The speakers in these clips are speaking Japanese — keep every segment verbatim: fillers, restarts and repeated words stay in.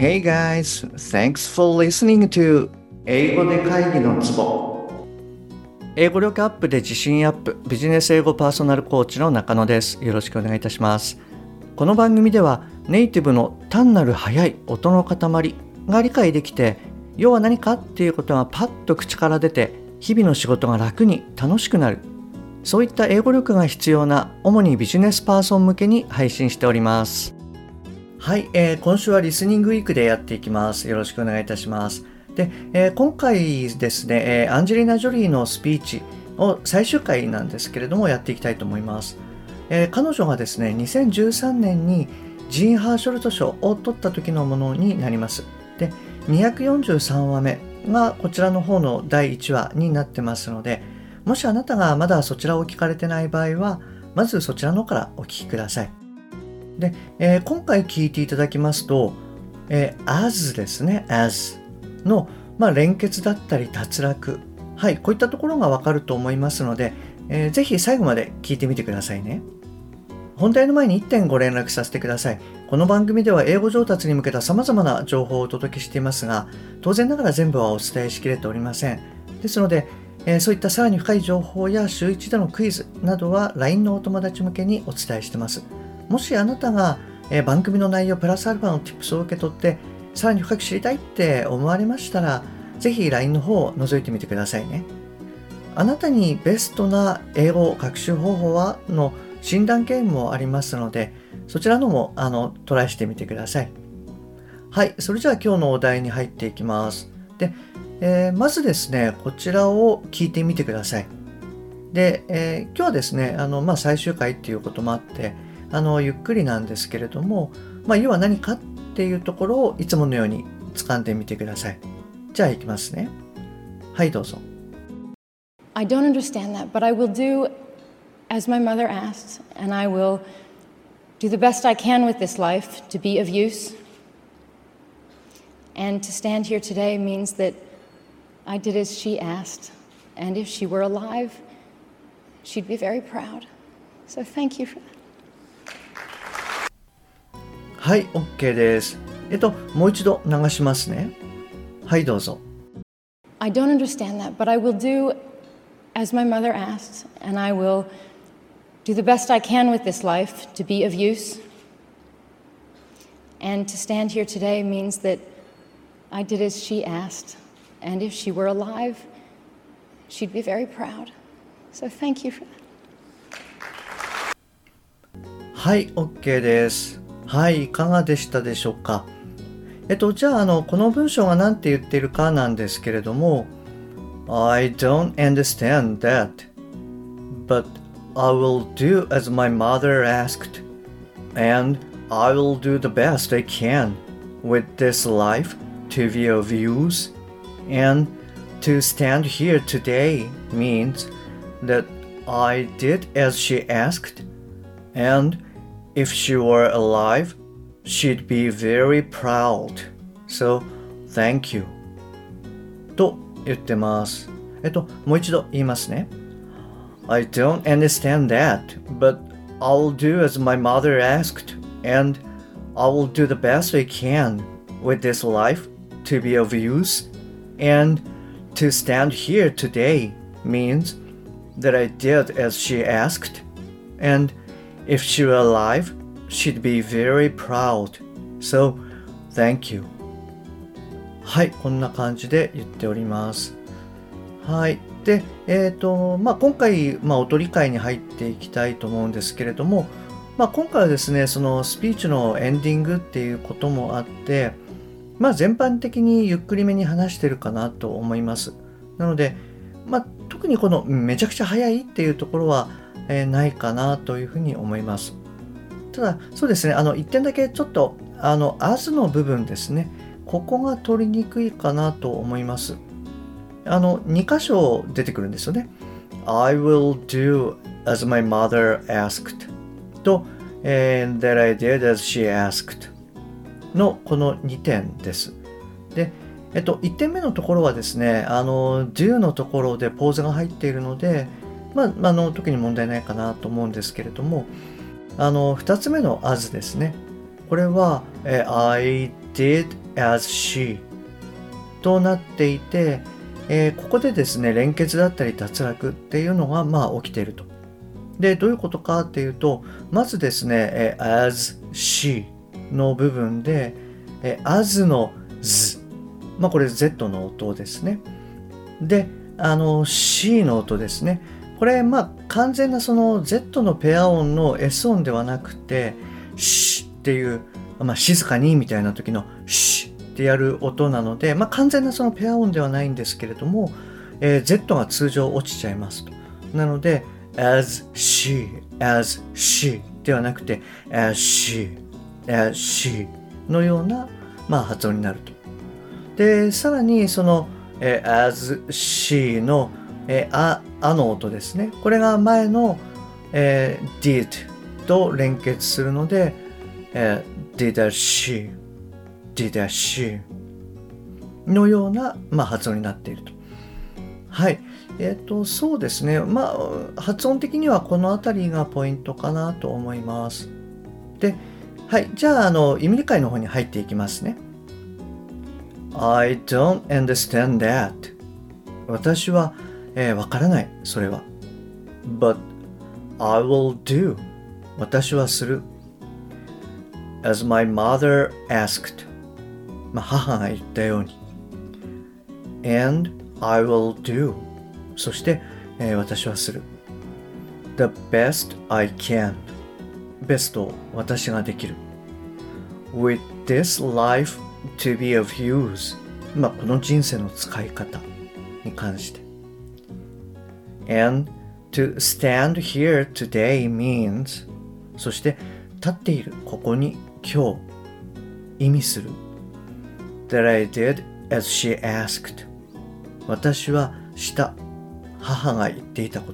Hey guys, thanks for listening to 英語で会議のツボ。英語力アップで自信アップ、ビジネス英語パーソナルコーチの中野です。よろしくお願いいたします。この番組ではネイティブの単なる速い音の塊が理解できて、要は何かっていうことがパッと口から出て、日々の仕事が楽に楽しくなる、そういった英語力が必要な主にビジネスパーソン向けに配信しております。はい、えー、今週はリスニングウィークでやっていきます。よろしくお願いいたします。で、えー、今回ですね、えー、アンジェリーナ・ジョリーのスピーチを最終回なんですけれどもやっていきたいと思います。えー、彼女がですね、にせんじゅうさんねんにジーン・ハーショルト賞を取った時のものになります。で、にひゃくよんじゅうさんわめがこちらの方のだいいちわになってますので、もしあなたがまだそちらを聞かれてない場合は、まずそちらのからお聞きください。で、えー、今回聞いていただきますと、えー、as ですね、as の、まあ、連結だったり脱落、はい、こういったところがわかると思いますので、えー、ぜひ最後まで聞いてみてくださいね。本題の前にいってんご連絡させてください。この番組では英語上達に向けた様々な情報をお届けしていますが、当然ながら全部はお伝えしきれておりません。ですので、えー、そういったさらに深い情報や週いちでのクイズなどは ライン のお友達向けにお伝えしています。もしあなたが、えー、番組の内容プラスアルファの Tips を受け取ってさらに深く知りたいって思われましたら、ぜひ ライン の方を覗いてみてくださいね。あなたにベストな英語学習方法はの診断ゲームもありますので、そちらのもあのトライしてみてください。はい、それじゃあ今日のお題に入っていきます。で、えー、まずですね、こちらを聞いてみてください。で、えー、今日はですね、あの、まあ、最終回っていうこともあって、あの、ゆっくりなんですけれども、まあ、要は何かっていうところをいつものように掴んでみてください。じゃあいきますね。はい、どうぞ。 I don't understand that, but I will do as my mother asked, and I will do the best I can with this life to be of use. And to stand here today means that I did as she asked, and if she were alive, she'd be very proud. So thank you for that. はい、OK です。えっと、もう一度流しますね。はい、どうぞ。 I don't understand that, but I will do as my mother asked, and I will do the best I can with this life to be of use. And to stand here today means that I did as she asked, and if she were alive, she'd be very proud. So thank you for that. はい、OK です。はい、いかがでしたでしょうか。えっと、じゃあ、あの、この文章が何て言っているかなんですけれども、I don't understand that, but I will do as my mother asked, and I will do the best I can with this life to be of use, and to stand here today means that I did as she asked, and if she were alive, she'd be very proud. So, thank you. と言ってます。えっと、もう一度言いますね。I don't understand that, but I'll do as my mother asked, and I will do the best I can with this life to be of use, and to stand here today means that I did as she asked, and if she were alive, she'd be very proud. So, thank you. はい、こんな感じで言っております。はい。で、えっと、まあ、今回、まあ、お取り会に入っていきたいと思うんですけれども、まあ、今回はですね、そのスピーチのエンディングっていうこともあって、まあ、全般的にゆっくりめに話してるかなと思います。なので、まあ、特にこのめちゃくちゃ早いっていうところは、えー、ないかなというふうに思います。ただ、そうですね、あの、一点だけちょっと、あの、as の部分ですね、ここが取りにくいかなと思います。あの、に箇所出てくるんですよね。I will do as my mother asked と、and that I did as she asked のこのにてんです。で、えっと、いってんめのところはですね、あの、do のところでポーズが入っているので、まあ、あの、特に問題ないかなと思うんですけれども、あの、ふたつめの as ですね。これは、え I did as she となっていて、えー、ここでですね連結だったり脱落っていうのがまあ起きていると。でどういうことかっていうと、まずですね、えー、as she の部分で、えー、as の z、まあこれ Z の音ですね。であの C の音ですね。これまあ完全なその Z のペア音の S 音ではなくて、シっていう、まあ、静かにみたいな時のシってやる音なので、まあ、完全なそのペア音ではないんですけれども、えー、Z が通常落ちちゃいますと。なので as she as she ではなくて as she as she のような、まあ、発音になると。でさらにその、えー、as she の、えー、あ, あの音ですね。これが前の、えー、did と連結するので、えー、did as she did as she のような、まあ、発音になっていると。はい。えっと、そうですね。まあ、発音的にはこのあたりがポイントかなと思います。で、はい。じゃあ、あの、意味理解の方に入っていきますね。I don't understand that. 私は、えー、わからない。それは。But I will do. 私はする。As my mother asked. まあ、母が言ったように。And I will do. そして、えー、私はする。The best I can. ベストを私ができる。With this life to be of use. まあ、この人生の使い方に関して。And to stand here today means. そして、立っているここに今日意味する。That I did as she asked. 私はした母が言っていたこと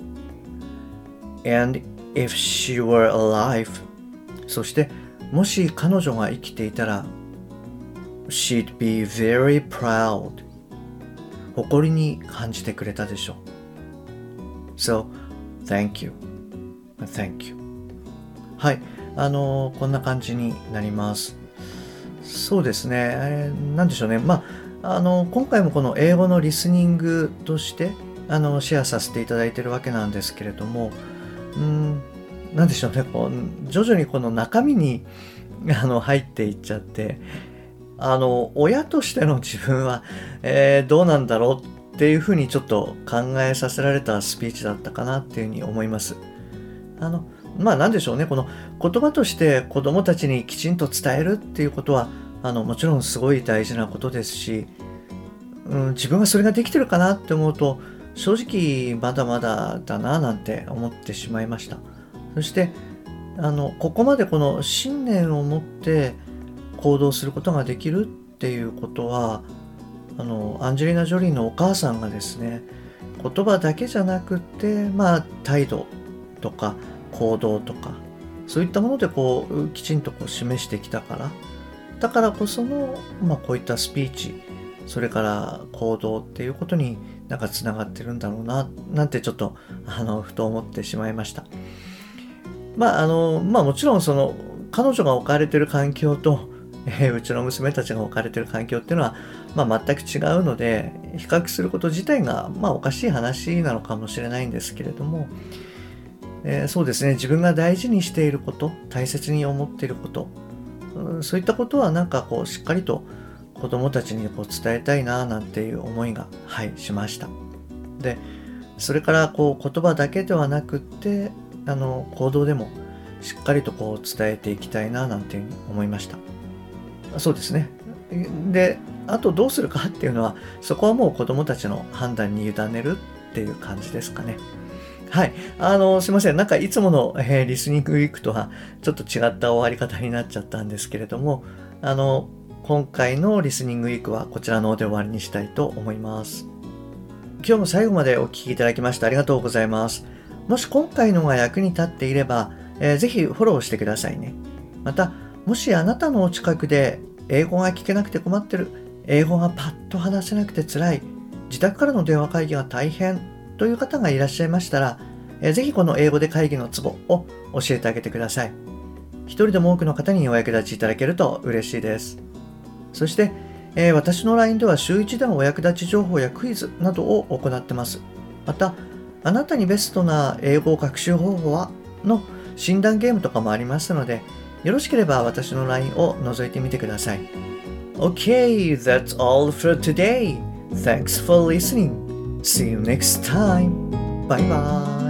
。And if she were alive. そしてもし彼女が生きていたら She'd be very proud. 誇りに感じてくれたでしょう。So, thank you. Thank you. はい。あのー、こんな感じになります。そうですね。えー、なんでしょうね。まあ、あのー、今回もこの英語のリスニングとしてあのシェアさせていただいているわけなんですけれども、うーん、なんでしょうね。こう徐々にこの中身にあの入っていっちゃって、あの親としての自分は、えー、どうなんだろうっていうふうにちょっと考えさせられたスピーチだったかなっていうふうに思います。あのまあなんでしょうね。この言葉として子どもたちにきちんと伝えるっていうことはあのもちろんすごい大事なことですし、うん、自分がそれができてるかなって思うと正直まだまだだななんて思ってしまいました。そしてあのここまでこの信念を持って行動することができるっていうことは、あのアンジェリーナ・ジョリーのお母さんがですね、言葉だけじゃなくて、まあ態度とか行動とかそういったものでこうきちんとこう示してきたから、だからこその、まあ、こういったスピーチ、それから行動っていうことになんかつながってるんだろうななんてちょっとあのふと思ってしまいました。まああのまあもちろんその彼女が置かれている環境と、えー、うちの娘たちが置かれている環境っていうのは、まあ、全く違うので比較すること自体が、まあ、おかしい話なのかもしれないんですけれども、えー、そうですね、自分が大事にしていること、大切に思っていること、うん、そういったことはなんかこうしっかりと子どもたちにこう伝えたいななんていう思いが、はい、しました。でそれからこう言葉だけではなくってあの行動でもしっかりとこう伝えていきたいななんていうふうに思いました。そうですね。であとどうするかっていうのはそこはもう子どもたちの判断に委ねるっていう感じですかね。はい。あの、すいません。なんかいつもの、えー、リスニングウィークとはちょっと違った終わり方になっちゃったんですけれども、あの、今回のリスニングウィークはこちらの方で終わりにしたいと思います。今日も最後までお聞きいただきましてありがとうございます。もし今回のが役に立っていれば、えー、ぜひフォローしてくださいね。また、もしあなたのお近くで英語が聞けなくて困ってる、英語がパッと話せなくて辛い、自宅からの電話会議が大変という方がいらっしゃいましたら、えー、ぜひこの英語で会議のツボを教えてあげてください。一人でも多くの方にお役立ちいただけると嬉しいです。 そして、えー、私の ライン では週いちでのお役立ち情報やクイズなどを行っています。また、あなたにベストな英語学習方法はの診断ゲームとかもありますので、よろしければ私の ライン を覗いてみてください。Okay, that's all for today. Thanks for listening. See you next time. Bye bye.